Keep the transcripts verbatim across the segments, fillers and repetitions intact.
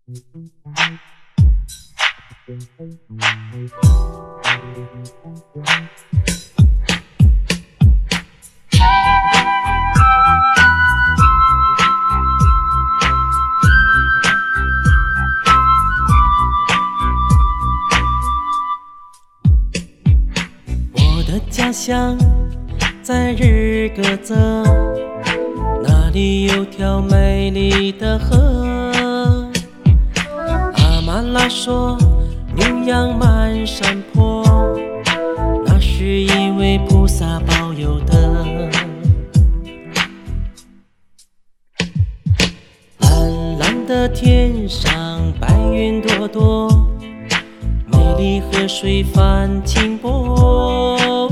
我的家乡在日喀则，那里有条美丽的河。阿曼拉说牛羊满山坡，那是因为菩萨保佑的。蓝蓝的天上白云朵朵，美丽河水泛清波，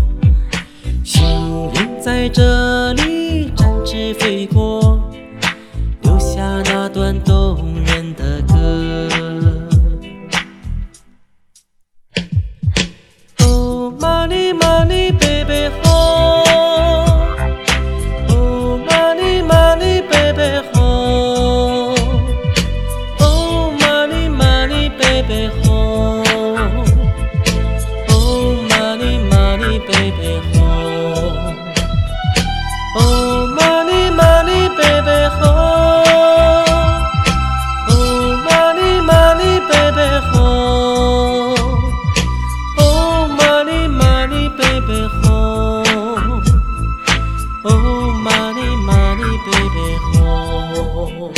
雄鹰在这里展翅飞过，留下那段动人的歌。Oh money money baby ho, Oh money money baby ho, Oh money money baby ho, Oh money money baby ho, Oh money money baby ho, Oh money money baby ho, Oh money money baby ho, Oh money money baby ho。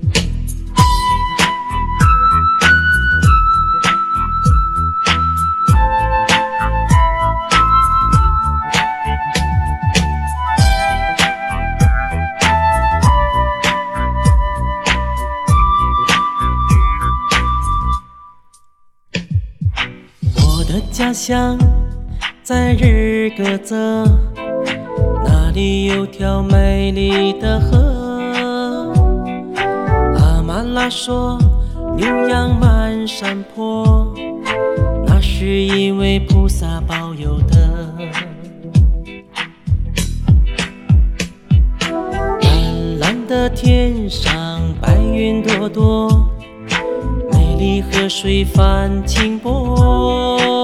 我的家乡在日喀则，那里有条美丽的河。阿曼拉说牛羊满山坡，那是因为菩萨保佑的。蓝蓝的天上白云朵朵，美丽河水泛清波，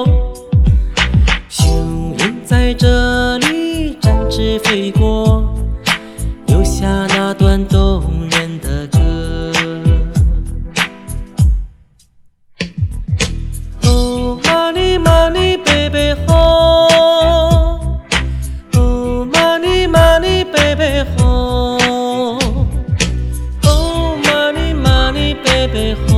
雄鹰在这里展翅飞过，留下那段动人的歌。Oh money money baby ho, Oh money money baby ho, Oh money money baby ho,